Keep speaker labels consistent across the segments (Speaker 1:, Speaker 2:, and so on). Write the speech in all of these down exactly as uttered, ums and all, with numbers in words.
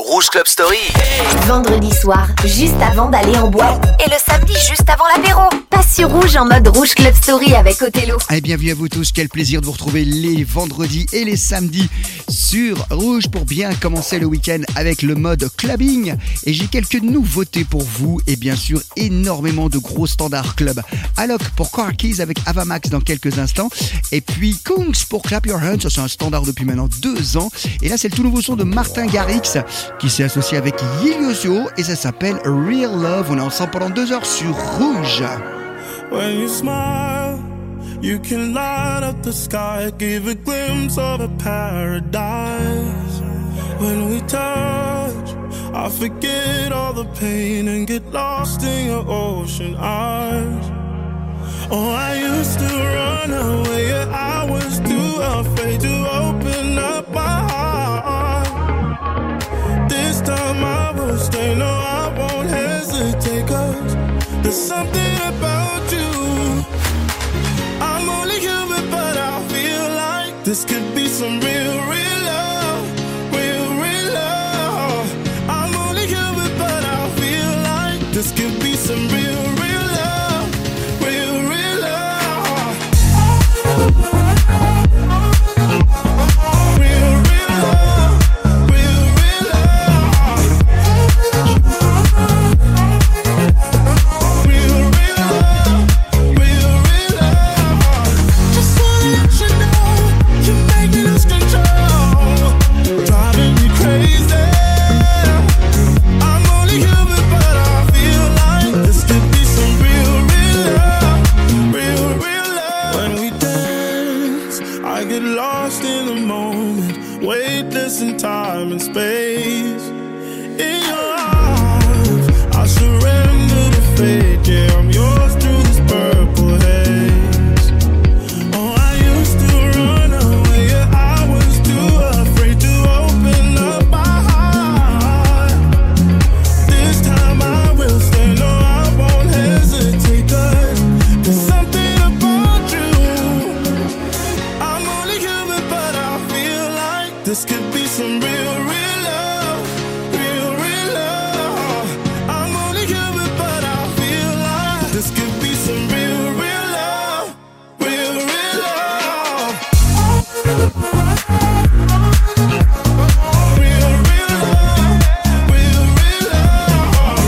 Speaker 1: Rouge Club Story.
Speaker 2: Vendredi soir, juste avant d'aller en boîte. Et le samedi, juste avant l'apéro. Passe sur Rouge en mode Rouge Club Story avec Othello.
Speaker 3: Et bienvenue à vous tous, quel plaisir de vous retrouver les vendredis et les samedis sur Rouge pour bien commencer le week-end avec le mode clubbing. Et j'ai quelques nouveautés pour vous et bien sûr énormément de gros standards club. Alok pour Car Keys avec Avamax dans quelques instants. Et puis Kungs pour Clap Your Hands, ça c'est un standard depuis maintenant deux ans. Et là c'est le tout nouveau son de Martin Garrix qui s'est associé avec Yiliosio et ça s'appelle Real Love. On est ensemble pendant deux heures sur Rouge.
Speaker 4: When you smile, you can light up the sky, give a glimpse of a paradise. When we touch, I forget all the pain and get lost in your ocean eyes. Oh, I used to run away, yeah, I was too afraid to open up my heart. This time I will stay, no, I won't hesitate, 'cause there's something about you. I'm only human, but I feel like this could be some real, real love, real, real love. I'm only human, but I feel like this could be some real, real love, real, real love. Real, real love, real, real love. Real, real love, real, real love. Just wanna let you know, you're making us control, driving me crazy. I'm only human, but I feel like this could be some real, real love, real, real love. When we dance, I get lost in the moment, weightless in time and space. In your arms, I surrender to fate. Yeah, I'm yours through this purple haze. Oh, I used to run away, yeah, I was too afraid to open up my heart. This time I will stay, no, I won't hesitate, 'cause there's something about you. I'm only human, but I feel like this could be some real, real love, real, real love. I'm only human, but I feel like this could be some real, real love, real, real love. Real, real love, real, real love.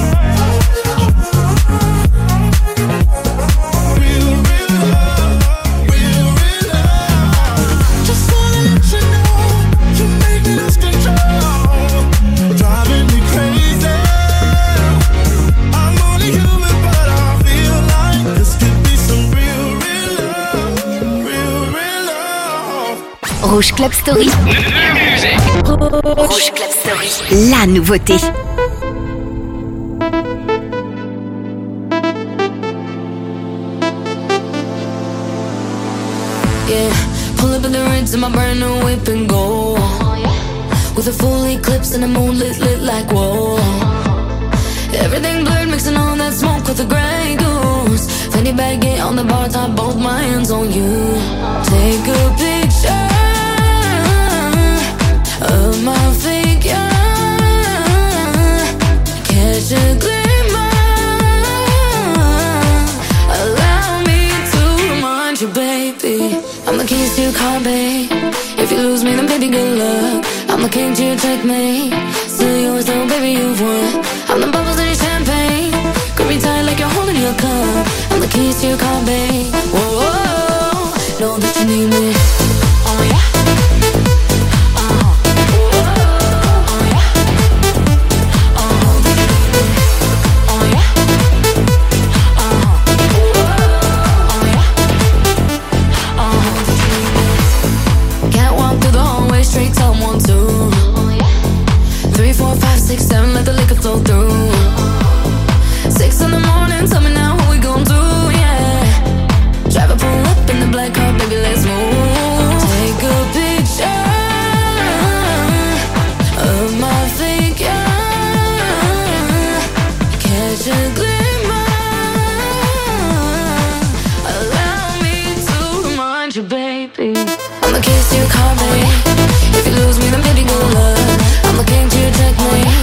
Speaker 4: Real, real love, real, real love. Just wanna let you know, you're making us control, driving me crazy. I'm only human, but I feel like this could be some real, real love, real, real love.
Speaker 2: Rouge Club Story. Rouge Club Story. La nouveauté.
Speaker 5: Yeah, pull up in the rinse in my brand new whip and go. With a full eclipse and the moon lit, lit like whoa. Everything blurred, mixing all that smoke with the Grey Goose. Fanny baggy on the bar top, both my hands on you. Take a picture of my figure, catch a glimmer. Allow me to remind you, baby, I'm the keys to your car, babe. If you lose me, then baby, good luck. I'm the king to your checkmate. Still yours though, baby, you've won. I'm the bubbles in your champagne. Grip me tight like you're holding your cup. I'm the keys to your car, babe. Whoa, whoa, whoa. Know that you need me. Oh yeah. Uh-huh. Whoa, oh yeah. Uh-huh. Oh yeah. Uh-huh. Whoa, oh yeah. Uh-huh. Can't walk through the hallway, straight to one, two. Three, four, five, six, seven, let the liquor flow through. Six in the morning, tell me now what we gon' do, yeah. Drive a pull up in the black car, baby, let's move. Take a picture of my figure, catch a glimmer. Allow me to remind you, baby, I'm the keys to your car, baby. If you lose me, then baby, good luck. I'm the king to your checkmate.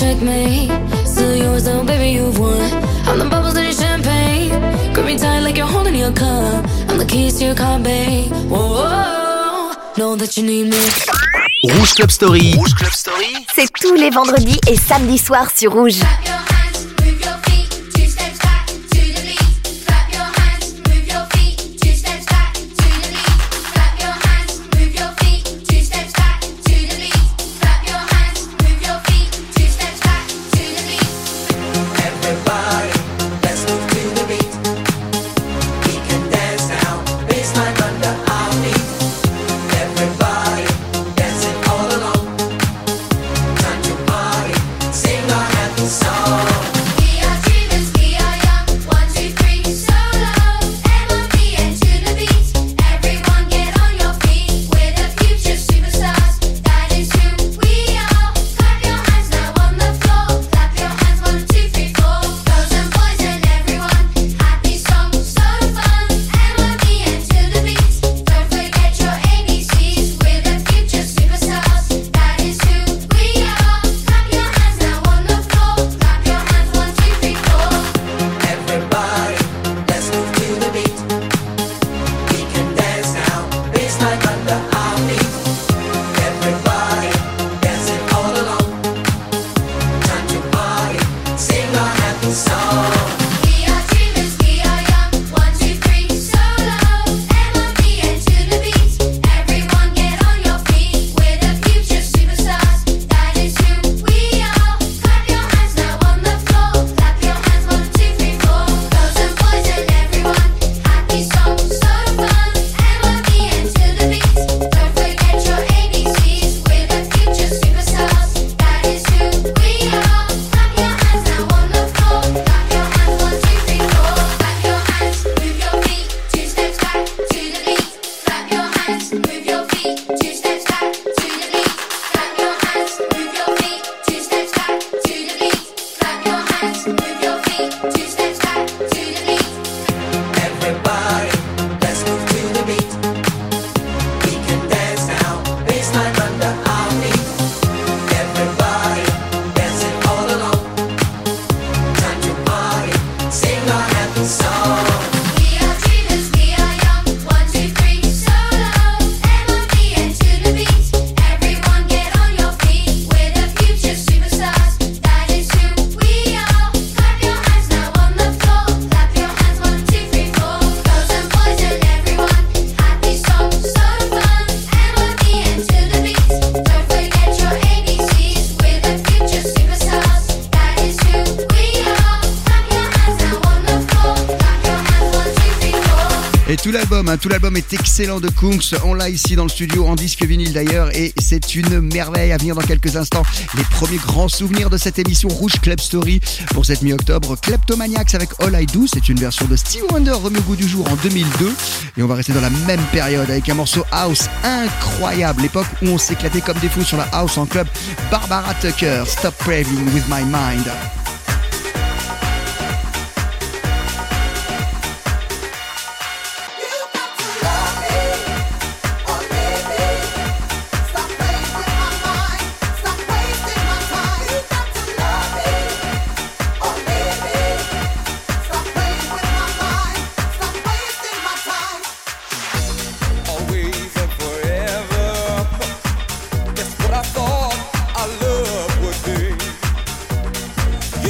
Speaker 5: checkmate. Still yours though, baby, you've won. I'm the bubbles in your champagne. Grip me tight like you're holding your cup. I'm the keys to your car, babe. Whoa, whoa, know that you need me.
Speaker 1: Rouge Club Story. Rouge Club Story.
Speaker 2: C'est tous les vendredis et samedis soirs sur Rouge.
Speaker 3: Tout l'album, hein, tout l'album est excellent de Kungs. On l'a ici dans le studio en disque vinyle d'ailleurs et c'est une merveille à venir dans quelques instants. Les premiers grands souvenirs de cette émission Rouge Club Story pour cette mi-octobre. Kleptomaniacs avec All I Do, c'est une version de Stevie Wonder remis au goût du jour en deux mille deux. Et on va rester dans la même période avec un morceau house incroyable. L'époque où on s'éclatait comme des fous sur la house en club. Barbara Tucker, Stop Raving With My Mind.
Speaker 6: What I thought our love would be.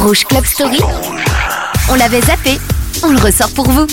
Speaker 2: Rouge Club Story. On l'avait zappé, on le ressort pour vous.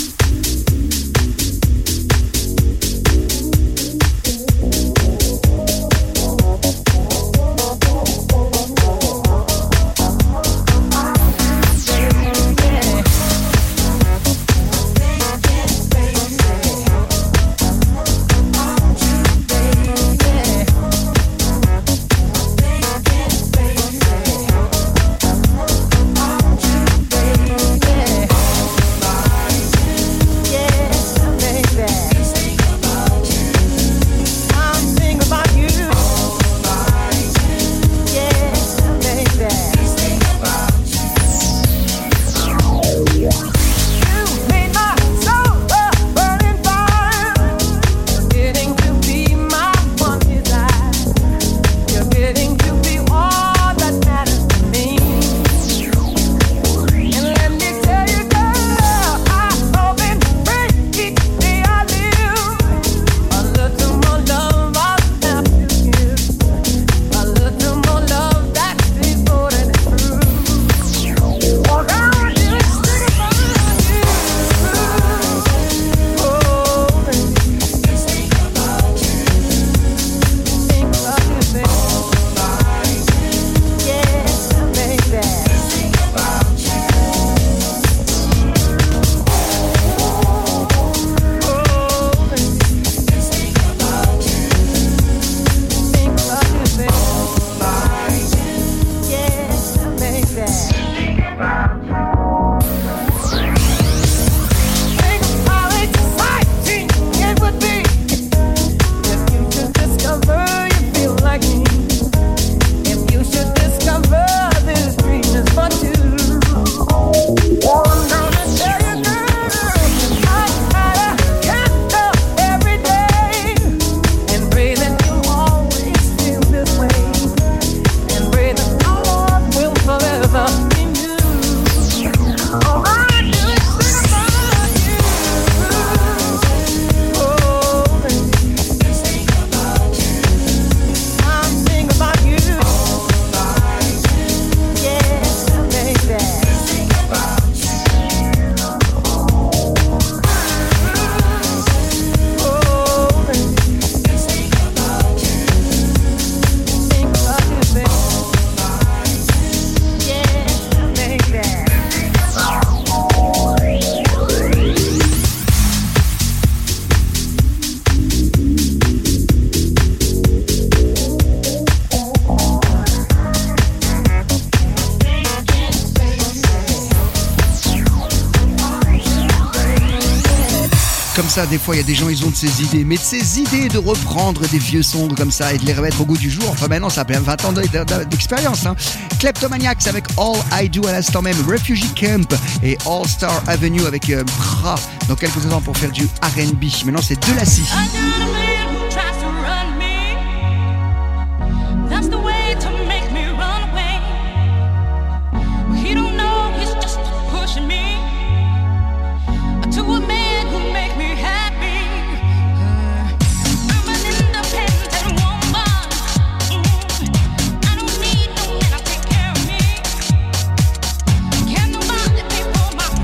Speaker 3: Comme ça, des fois, il y a des gens, ils ont de ces idées. Mais de ces idées de reprendre des vieux sons comme ça et de les remettre au goût du jour, enfin maintenant, ça fait vingt ans d'expérience. Hein. Kleptomaniacs avec All I Do à l'instant même, Refugee Camp et All Star Avenue avec euh, Bra dans quelques instants pour faire du R and B. Maintenant, c'est de la scie.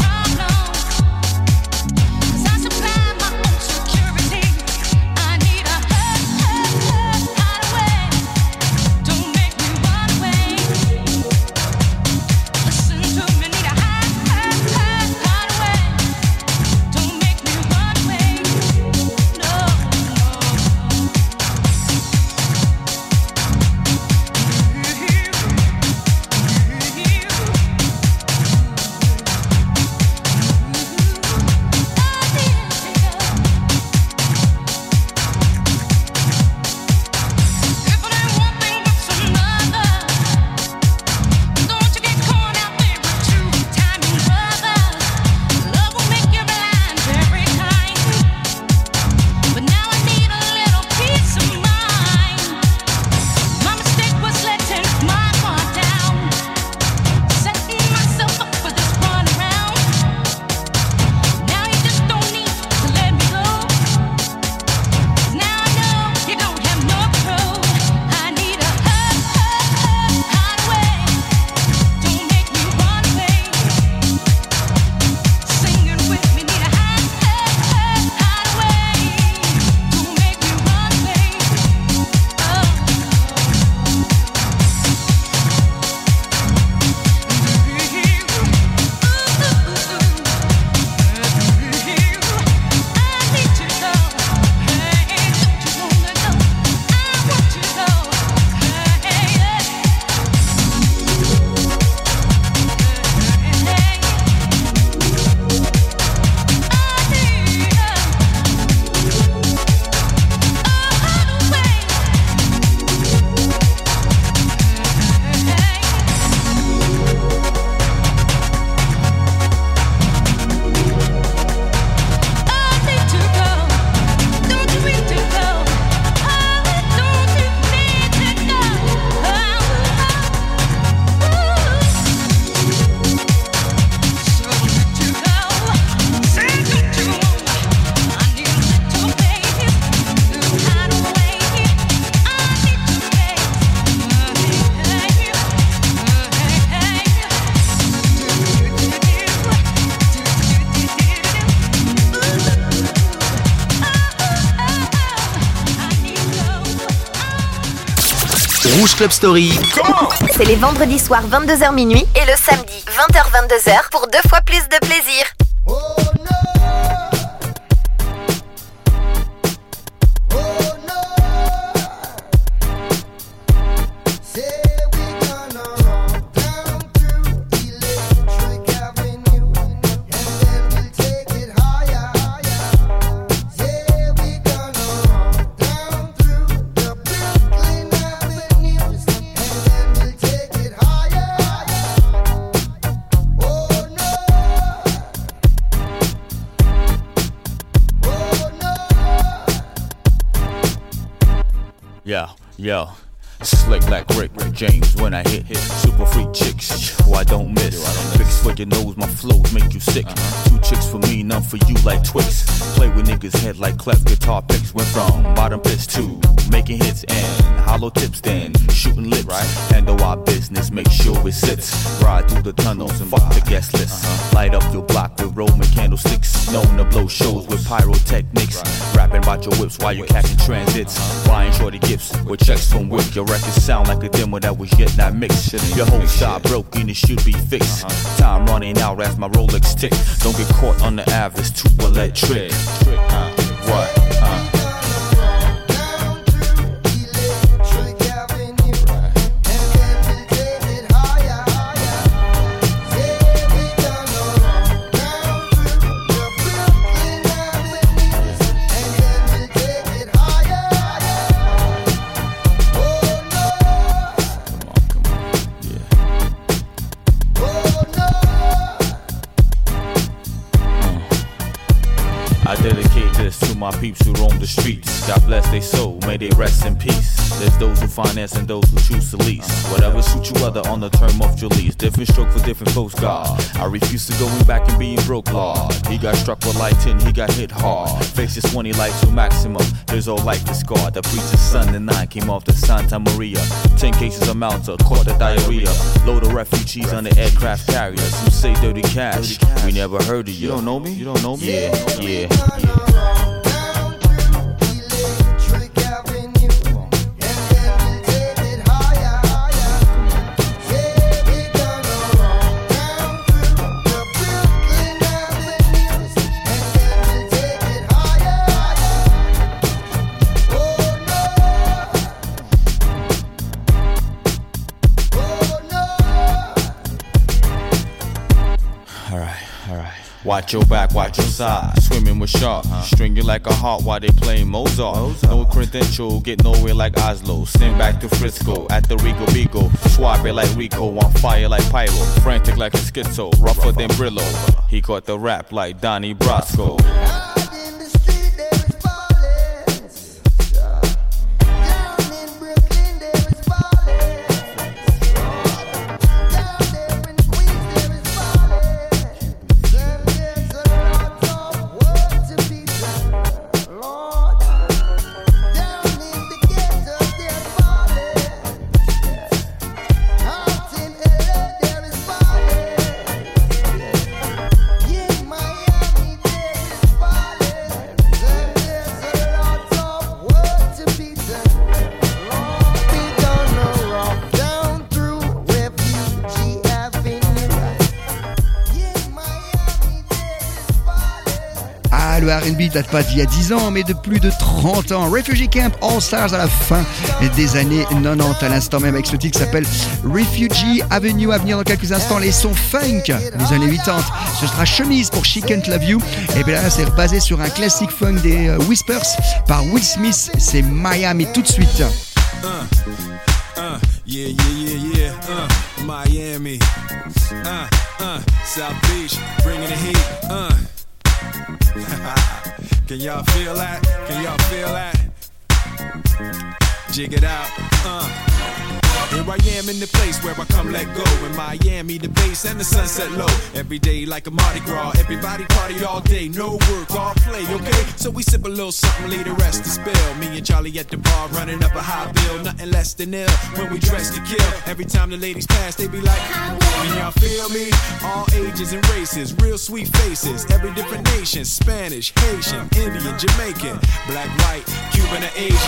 Speaker 6: I need a
Speaker 1: Rouge Club Story.
Speaker 2: C'est les vendredis soirs vingt-deux heures minuit et le samedi vingt heures vingt-deux heures pour deux fois plus de plaisir.
Speaker 6: Yeah, yeah. Slick like Rick, Rick James when I hit, hit. Super freak chicks, who I don't miss. Fix for your nose, my flows make you sick. Uh-huh. Two chicks for me, none for you like Twix. Play with niggas' head like cleft guitar picks. Went from bottom pitch to making hits and hollow tips, then shooting lips. Right. Handle our business, make sure it sits. Ride through the tunnels and fuck the guest list. Uh-huh. Light up your block with Roman candlesticks. Known to blow shows with pyrotechnics. Right. Rapping about your whips while you catching transits. Uh-huh. Buying shorty gifts with checks from Wick. Your records sound like a demo that was yet not mixed. Your whole style broken, it should be fixed. Uh-huh. Time running out as my Rolex tick. Don't get caught on the average, too electric. Uh, what? Uh. I dedicate this to my peeps who roam the streets. God bless their soul, may they rest in peace. There's those who finance and those who choose to lease. Whatever suits you other on the term of your lease. Different stroke for different folks, God. I refuse to going back and being broke, Lord. He got struck with lightning, he got hit hard. Faces twenty life to maximum. His whole life is scarred. The preacher's son and I came off the Santa Maria. Ten cases of Malta, caught the diarrhea. Load of refugees on the aircraft carriers. Who say dirty cash? We never heard of you. You don't know me? You don't know me? Yeah, yeah. Yeah. Watch your back, watch your side. Swimming with sharks, uh-huh. String you like a heart while they playing Mozart. Mozart. No credential, get nowhere like Oslo. Send back to Frisco at the Rico Bigo. Swap it like Rico, on fire like Pyro. Frantic like a schizo, rougher than Brillo. He caught the rap like Donnie Brasco.
Speaker 3: Le R and B date pas d'il y a dix ans, mais de plus de trente ans. Refugee Camp All Stars à la fin des années quatre-vingt-dix, à l'instant même, avec ce titre qui s'appelle Refugee Avenue. À venir dans quelques instants, les sons funk des années quatre-vingt-dix. Ce sera Chemise pour She Can't Love You. Et bien là, c'est basé sur un classique funk des uh, Whispers par Will Smith. C'est Miami tout de suite.
Speaker 7: Uh, uh, yeah, yeah, yeah, yeah. Uh, Miami. Uh, uh, South Beach, bringing the heat. Uh. Can y'all feel that? Can y'all feel that? Jig it out. Uh. Here I am in the place where I come let go. In Miami, the bass and the sunset low. Every day like a Mardi Gras. Everybody party all day. No work, all play, okay? So we sip a little something, leave the rest to spill. Me and Charlie at the bar running up a high bill. Nothing less than ill when we dress to kill. Every time the ladies pass, they be like, can y'all feel me? All ages and races, real sweet faces. Every different nation. Spanish, Haitian, Indian, Jamaican. Black, white, Cuban or Asian.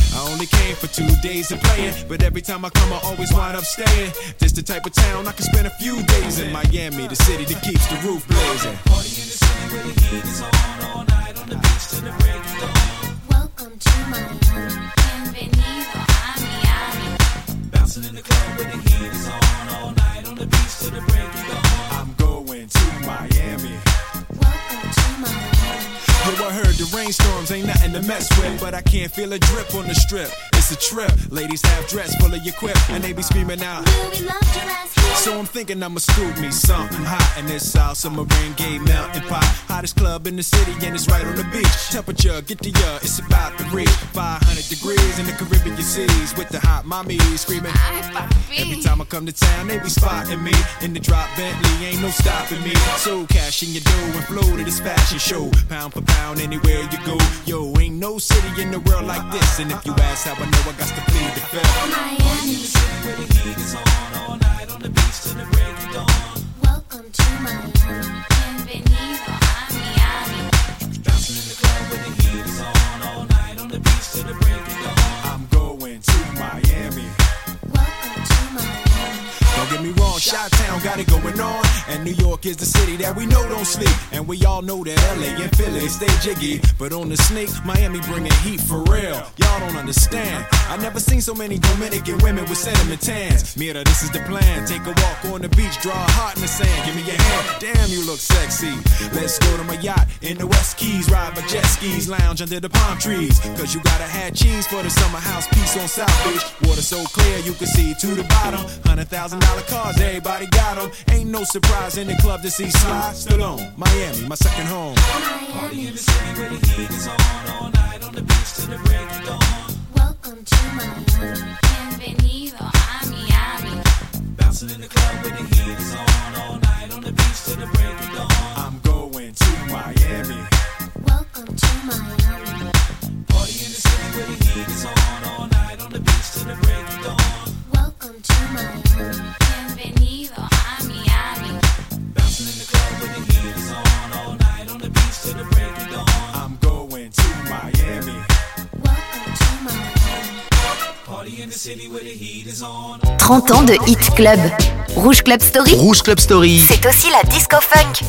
Speaker 7: I only came for two days of playing, but every time I come I always wind up staying. This the type of town I can spend a few days in. Miami, the city that keeps the roof blazing. Party in the city where the heat is on, all night on the beach till the break of dawn.
Speaker 5: Welcome to Miami. Bienvenido a Miami.
Speaker 7: Bouncing in the club where the heat is on, all night on the beach till the break of dawn. I'm going to Miami.
Speaker 5: Welcome to Miami.
Speaker 7: Yo, I heard the rainstorms ain't nothing to mess with, but I can't feel a drip on the strip. It's a trip. Ladies have dress full of your quip, and they be screaming out,
Speaker 5: Will we love your ass here?
Speaker 7: so I'm thinking I'ma scoop me something hot in this South Summer rain gay melting pot. Hottest club in the city and it's right on the beach. Temperature, get the uh, it's about to reach five hundred degrees in the Caribbean seas with the hot mommy screaming.
Speaker 5: Ay, papi.
Speaker 7: Every time I come to town, they be spotting me in the drop Bentley, ain't no stopping me. So cash in your dough and flow to this fashion show. Pound for pound, anywhere you go. Yo, ain't no city in the world like this. And if you ask how I know, I got to plead the fifth.
Speaker 5: Miami.
Speaker 7: The city where the heat is on, all night on the beach till the break of dawn.
Speaker 5: Welcome to Miami. Bienvenido a Miami.
Speaker 7: Bouncing in the club where the heat is on, all night on the beach till the break of dawn. I'm going to Miami.
Speaker 5: Welcome to Miami.
Speaker 7: Don't get me wrong, Chi-Town got it going on. And New York is the city that we know don't sleep. And we all know that L A and Philly stay jiggy. But on the sneak, Miami bringing heat for real. Y'all don't understand. I never seen so many Dominican women with cinnamon tans. Mira, this is the plan. Take a walk on the beach, draw a heart in the sand. Give me your hand. Damn, you look sexy. Let's go to my yacht in the West Keys. Ride my jet skis, lounge under the palm trees. Cause you gotta have cheese for the summer house piece on South Beach. Water so clear you can see to the bottom. Hundred thousand dollar cars, everybody got them. Ain't no surprise in the club to see Sly Stallone. Miami, my second home. Party in the city where the heat is on, all night on the beach till the break of dawn.
Speaker 5: Welcome to Miami. Bienvenido a Miami.
Speaker 7: Bouncing in the club where the heat is on, all night on the beach till the break of dawn. I'm going to Miami.
Speaker 5: Welcome to Miami.
Speaker 7: Party in the city where the heat is on, all night on the beach till the break of dawn.
Speaker 5: Welcome to Miami. Bienvenido a Miami.
Speaker 7: Bouncing in the club where the heat is on, all night on the beach till the break of dawn. I'm going to Miami.
Speaker 5: Welcome to Miami.
Speaker 7: Party in the city where the heat is on.
Speaker 2: trente ans de Hit Club. Rouge Club Story,
Speaker 1: Rouge Club Story.
Speaker 2: c'est aussi la disco funk.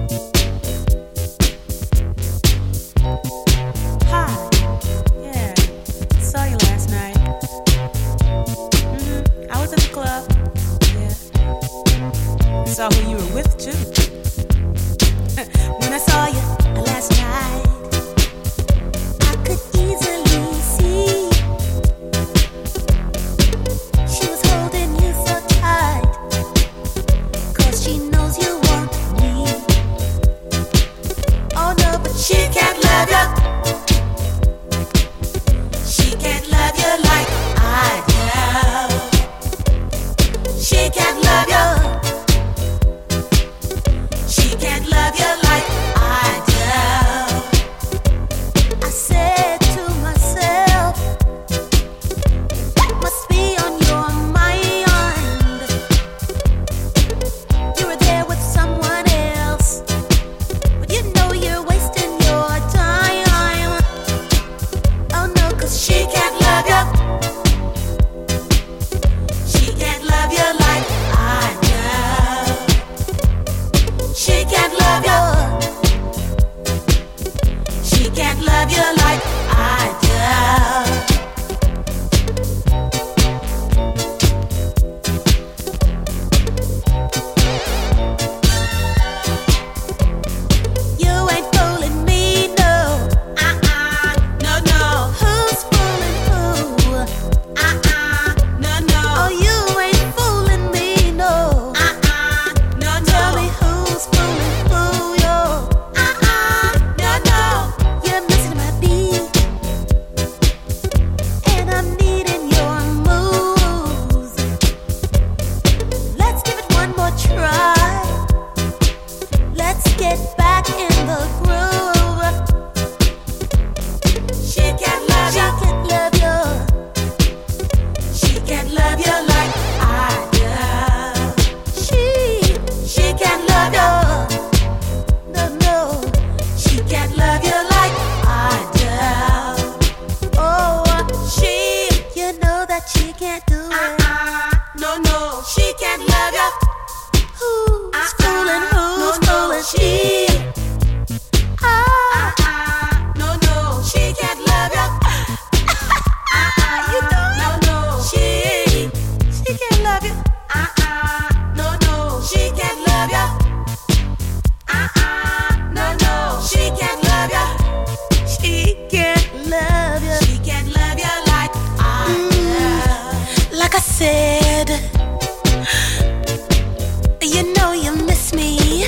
Speaker 8: Hi. Yeah. Saw you last night. Mm-hmm. I was at the club. Yeah. Saw who you were with too. When I saw you last night, I could easily see she was holding you so tight. 'Cause she knows you want me. Oh no, but she can't love you. She can't love you like I do. She can't love you. She can't love you like I do. I said to myself, it must be on your mind. You were there with someone else, but you know you're wasting your time. Oh no, 'cause she can't love you. She can't love you like I do. She can't love you. She can't love you like I do. You ain't fooling me, no. Uh-uh, no, no. Who's fooling who? Uh-uh, no, no. Oh, you ain't fooling me, no. Uh-uh, no, no. Tell me who's fooling who, yo. Uh-uh, no, no. You're missing my beat, and I'm needing your moves. Let's give it one more try. Let's get back in the groove. She can't love you. She can't love you. She can't love you like I do. She, she can't love you. No, no. She can't love you like I do. Oh, she love ya? Who's fooling? Who's fooling? She. Ah, ah, no, no, she can't love ya. Ah, ah, you know it. No, no, she, she can't love you. Ah, ah, no, no, she can't love ya. Ah, ah, no, no, she can't love ya. She can't love ya. She can't love ya like I love. Like I said, you know you miss me.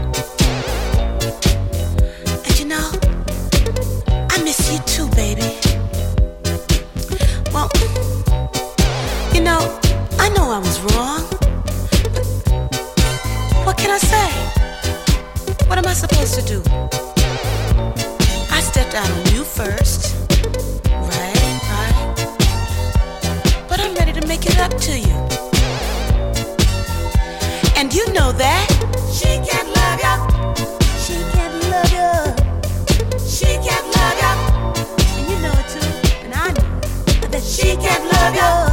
Speaker 8: And you know, I miss you too, baby. Well, you know, I know I was wrong. But what can I say? What am I supposed to do? I stepped out on you first. Right, right. But I'm ready to make it up to you. And you know that she can't love ya. She can't love ya. She can't love ya. And you know it too. And I know that she can't love ya.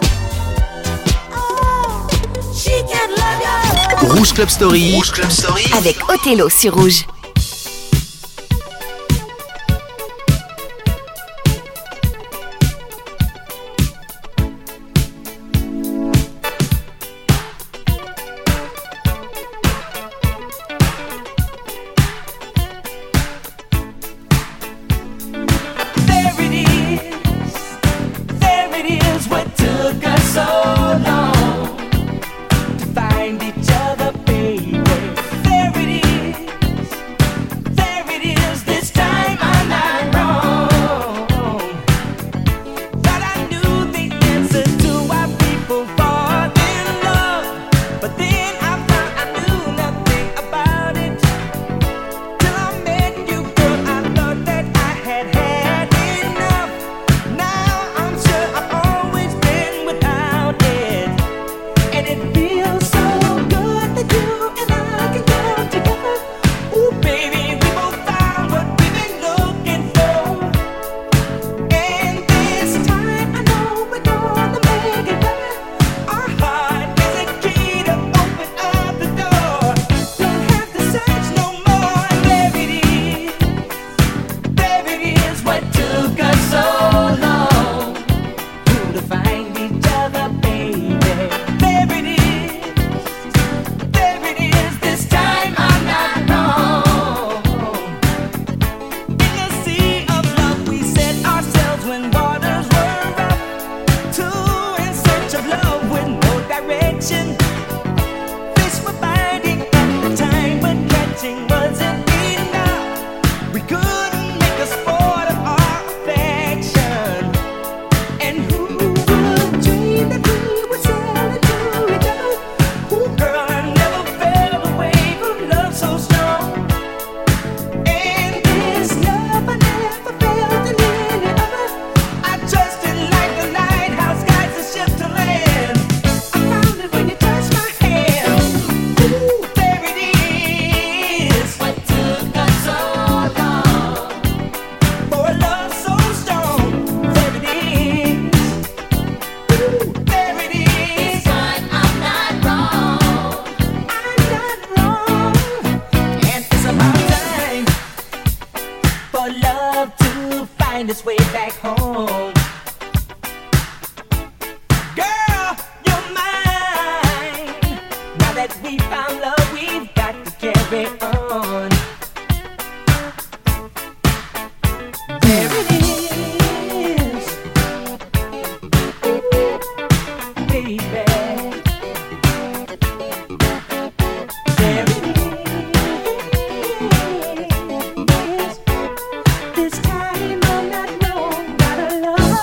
Speaker 8: Oh, she can't love ya.
Speaker 1: Rouge Club Story. Rouge Club Story.
Speaker 2: Avec Othello sur Rouge.
Speaker 8: This time I'm not known, gotta love.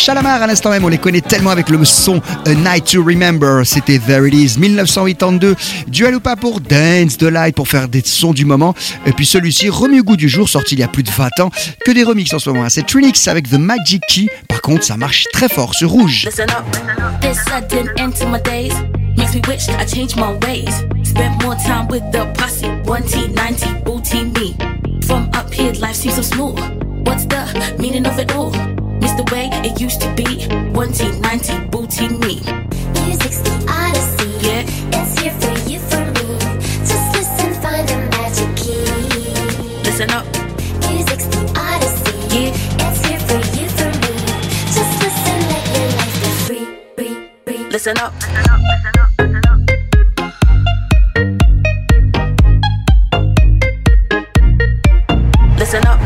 Speaker 3: Shalamar à l'instant même, on les connaît tellement avec le son A Night to Remember. C'était There It Is, dix-neuf cent quatre-vingt-deux. Dua Lipa pour Dance the Light, pour faire des sons du moment. Et puis celui-ci, Remue Goût du jour, sorti il y a plus de vingt ans. Que des remixes en ce moment. C'est Trinix avec The Magic Key. Par contre, ça marche très fort sur Rouge.
Speaker 9: Listen up, this sudden end to my days makes me wish I changed my ways. Spent more time with the posse, one T, ninety, booty me. From up here, life seems so smooth. What's the meaning of it all? Miss the way it used to be, one T, ninety, booty me.
Speaker 10: Music's the odyssey,
Speaker 9: yeah.
Speaker 10: It's here for you, for me. Just listen, find the magic key.
Speaker 9: Listen up,
Speaker 10: music's the odyssey,
Speaker 9: yeah.
Speaker 10: It's here for you, for me. Just listen, let your life be free, free, free.
Speaker 9: Listen up, listen up, listen up. Listen up,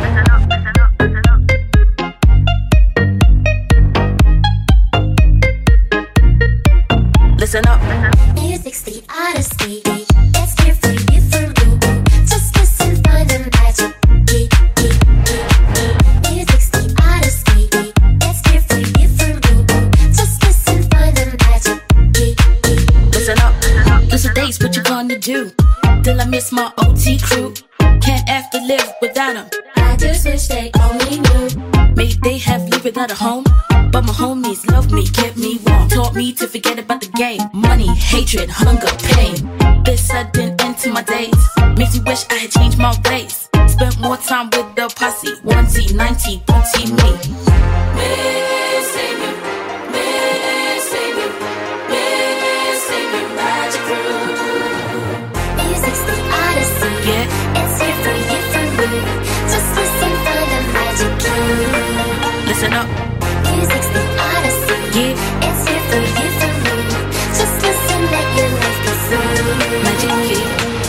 Speaker 9: listen up.
Speaker 10: Music's the odyssey, it's here for you, for me. Just listen, find the magic key. Music's the odyssey, it's here for you, for me. Just listen, find the magic key.
Speaker 9: Listen up, those are days, what you gonna do? Till I miss my O T crew. Can't have to live without them.
Speaker 10: I just wish they only knew.
Speaker 9: Maybe they have lived without a home, but my homies love me, kept me warm. Taught me to forget about the game. Money, hatred, hunger, pain. This sudden end to my days makes me wish I had changed my ways. Spent more time with the posse, one T, ninety, booty me. Missing you, missing you, missing you, magic crew.
Speaker 10: Music's the odyssey,
Speaker 9: Yeah,
Speaker 10: it's here for you, for me. Just listen, find the magic key.
Speaker 9: listen up,
Speaker 10: Music's the odyssey,
Speaker 9: yeah,
Speaker 10: it's here for you, for me. Just listen, let your life be free.
Speaker 9: magic key.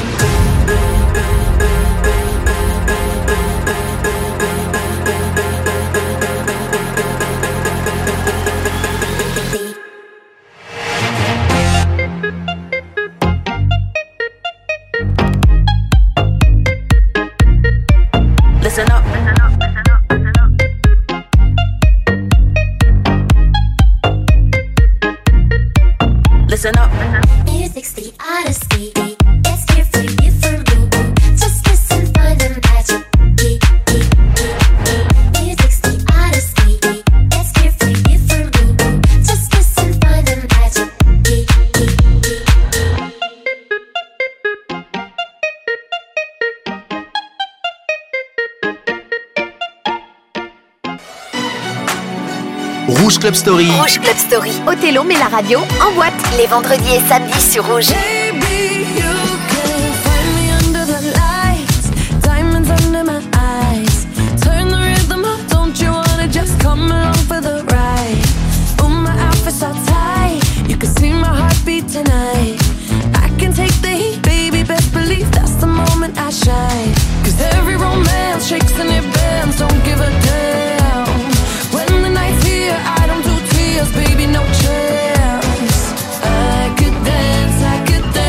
Speaker 9: Listen up, listen up, listen up, listen up. Listen up,
Speaker 10: Music's the odyssey, it's here for you, for me. Just listen, find the magic key. Music's the odyssey, it's here for you, for me. Just listen, find the magic key.
Speaker 1: Rouge Club Story.
Speaker 2: Rouge Club Story. Othello met la radio en boîte les vendredis et samedis sur Rouge.
Speaker 5: Baby, you can find me under the lights, diamonds under my eyes. Turn the rhythm up, don't you wanna just come along for the ride? Oh, my outfit's all tight, you can see my heartbeat tonight. I can take the heat, baby, best believe that's the moment I shine. Cause every romance shakes and it bends, don't give a damn. When the night's here, I don't do tears, baby, no chance. I could dance, I could dance.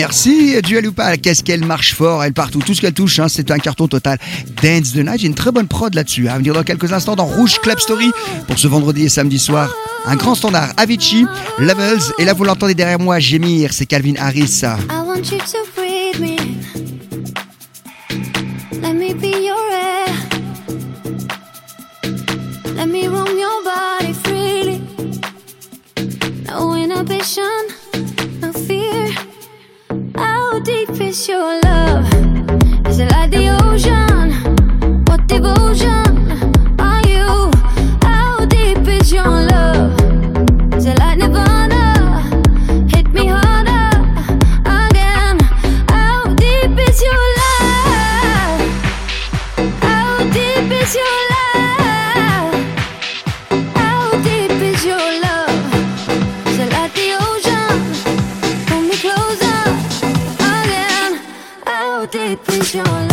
Speaker 3: merci Dua Lipa. Qu'est-ce qu'elle marche fort, elle partout, tout ce qu'elle touche, hein, c'est un carton total. Dance the Night, j'ai une très bonne prod là-dessus. À venir dans quelques instants dans Rouge Club Story pour ce vendredi et samedi soir. Un grand standard, Avicii, Levels, et là vous l'entendez derrière moi gémir, c'est Calvin Harris.
Speaker 10: I want you to breathe me. Let me be your air. Let me roam your body freely. No inhibition, no fear. How deep is your love? Is it like the ocean? What devotion are you? How deep is your love? Is it like Nirvana? Hit me harder again. How deep is your love? How deep is your love? How deep is your love? Is it like the ocean? Pull me closer again. How deep is your love?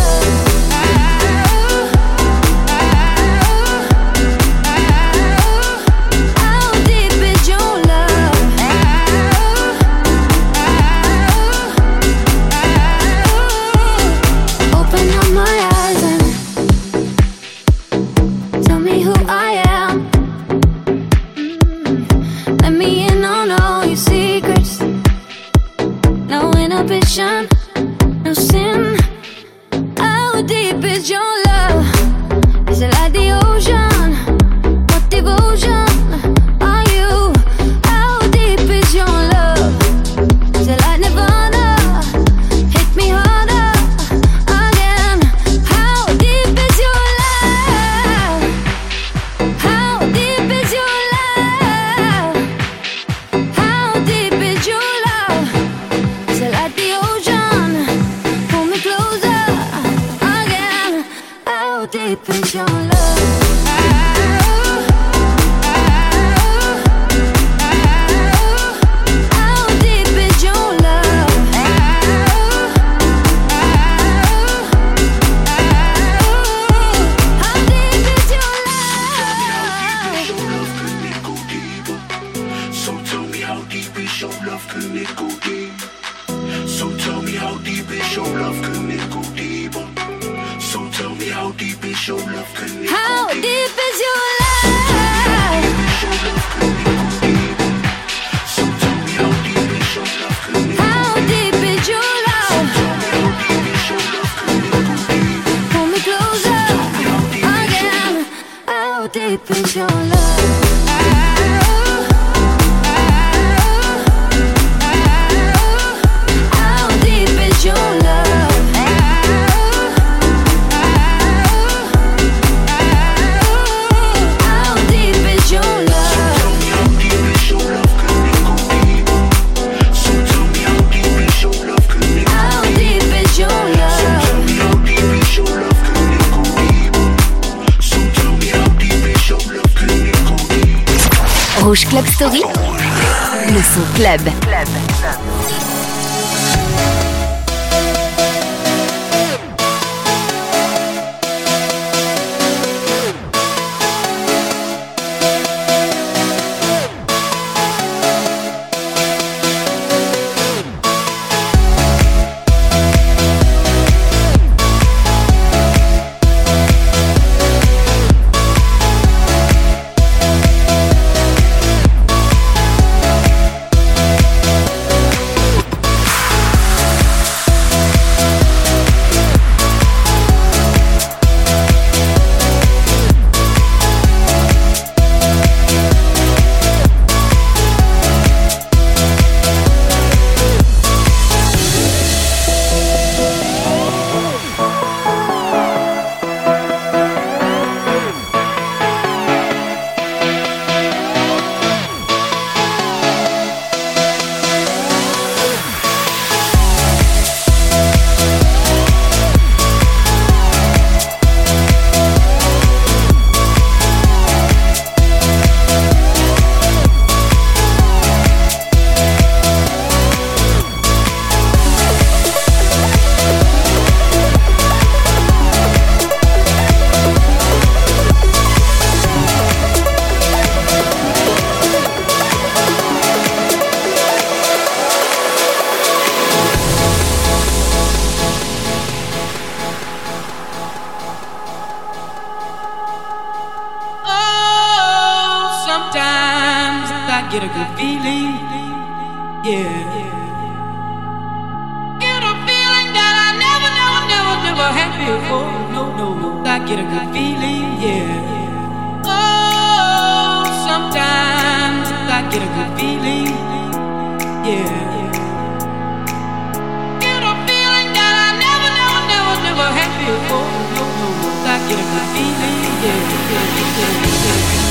Speaker 5: No sin. How deep is your love? Is it like the ocean? What devotion are you? How deep is your love? Is it like Nirvana? Hit me harder again. How deep is your love? How deep is your love? How deep is your love? Is it like the ocean? Pull me closer again. How deep is your love? How deep is your love? How deep is your love?
Speaker 4: So tell me how deep is your love, can it go deep? So tell me how deep is your love, can it go deeper? So tell me how deep is your love, can it
Speaker 5: How
Speaker 4: go
Speaker 5: deep
Speaker 4: deeper?
Speaker 5: is your love?
Speaker 4: So tell me how deep is your love, can it
Speaker 5: How deep is your love? Pull me closer again. How deep is your love? How deep is your love? How deep is your love?
Speaker 4: So tell me how deep is your love, can it go
Speaker 5: How deep is your love?
Speaker 4: Tell me how deep is your love, can it go deeper? So tell me how deep is your love, can it go deeper?
Speaker 2: Rouge Club Story, le son club.
Speaker 11: Sometimes I get a good feeling, yeah. Get a feeling that I never, never, never, never had before. No, no, no. I get a good feeling, yeah. Oh, sometimes I get a good feeling, yeah. Get a feeling that I never, never, never, never had before. No, no, no. I get a good feeling, yeah, yeah, yeah, yeah, yeah.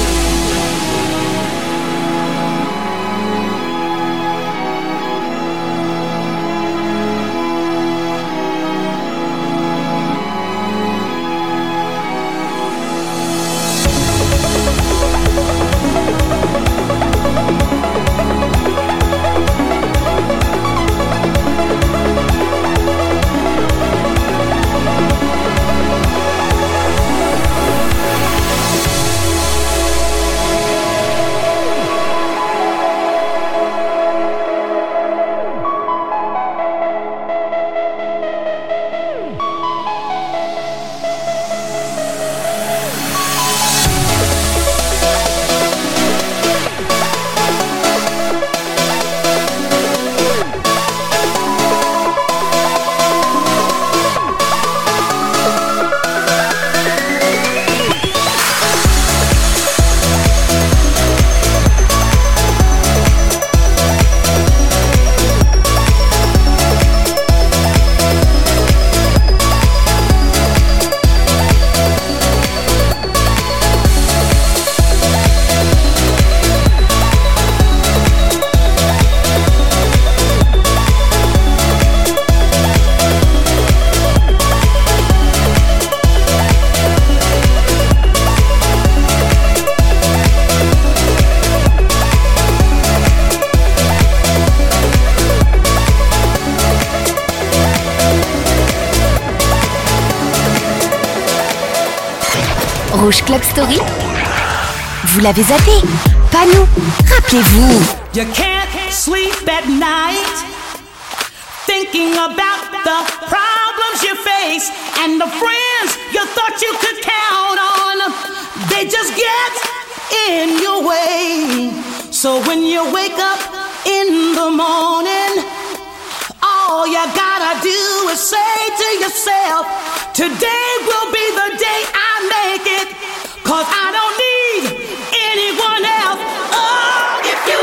Speaker 2: Rouge Club Story. Vous l'avez zappé. Pas nous. Rappelez-vous.
Speaker 12: You can't sleep at night thinking about the problems you face and the friends you thought you could count on. They just get in your way. So when you wake up in the morning, all you gotta do is say to yourself, today will be the day I make it, 'cause I don't need anyone else. Oh, if you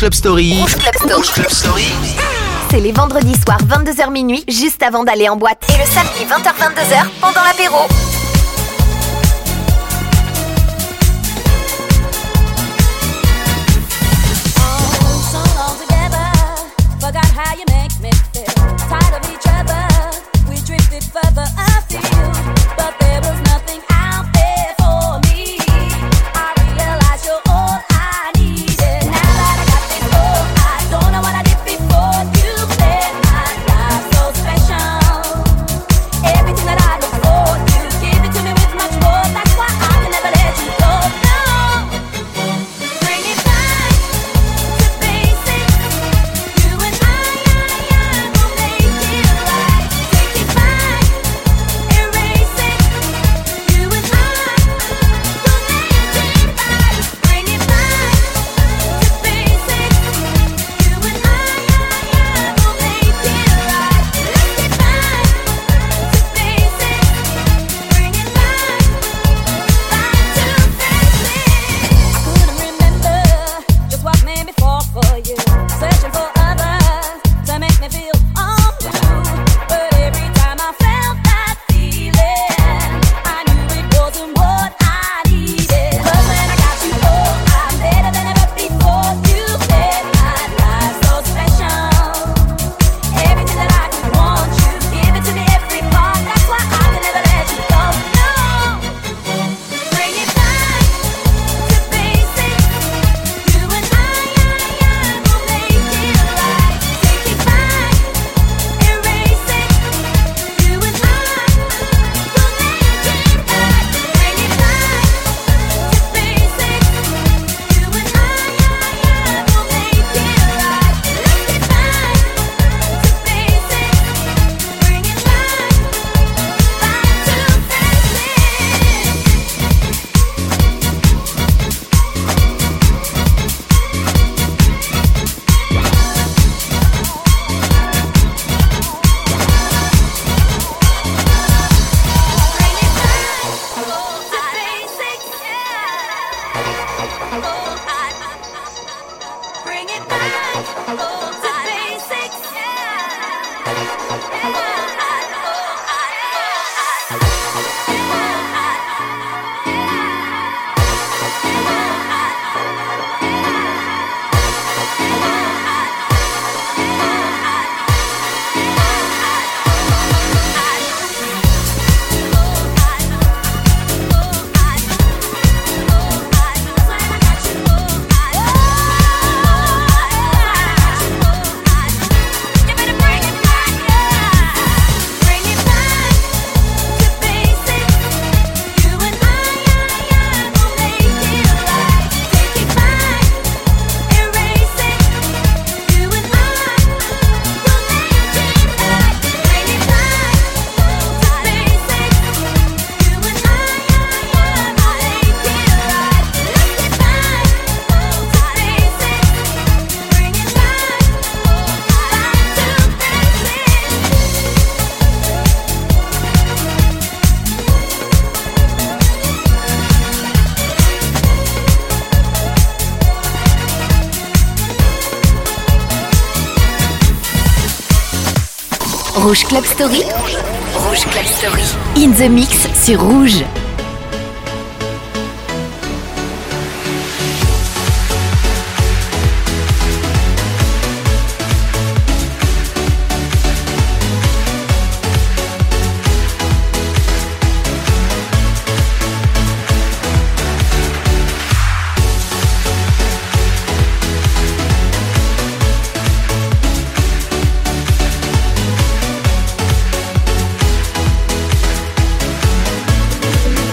Speaker 1: Club Story.
Speaker 2: Rouge Club Story.
Speaker 1: Rouge Club Story.
Speaker 2: C'est les vendredis soirs vingt-deux heures minuit, juste avant d'aller en boîte. Et le samedi vingt heures vingt-deux heures pendant l'apéro.
Speaker 8: Forgot how you make me feel. Tired of each other, we drifted further afield, but there was nothing out there for me. I realized you're all I needed. Now that I got this all, I don't know what I did before. You made my life so special. Everything that I look for, you give it to me with much more. That's why I can never let you go. No, bring it back to basics. You and I.
Speaker 2: Rouge Club Story. Rouge Club Story. In the mix sur Rouge.
Speaker 8: Bring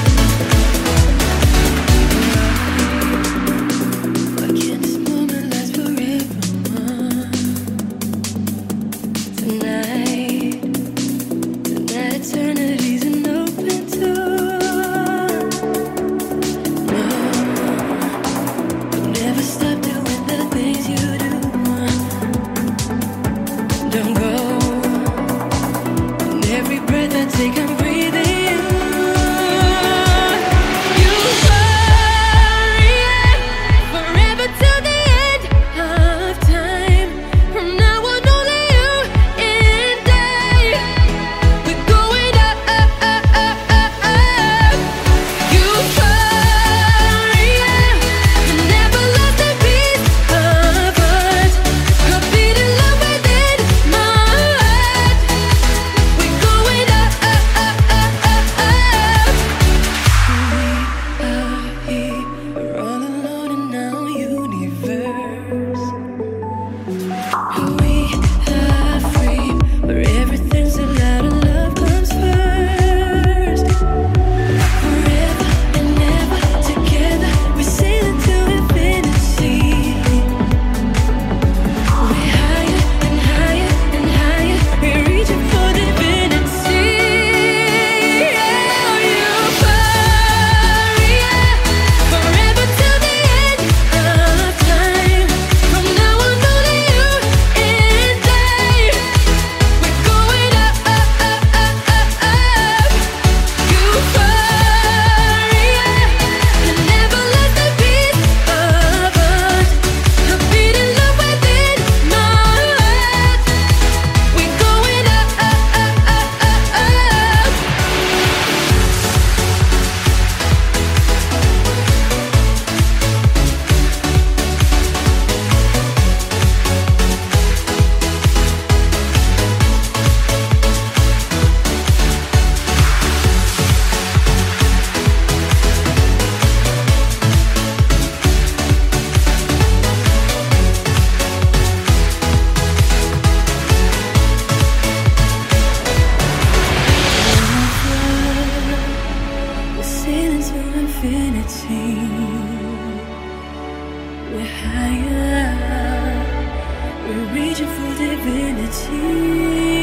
Speaker 13: need you for divinity.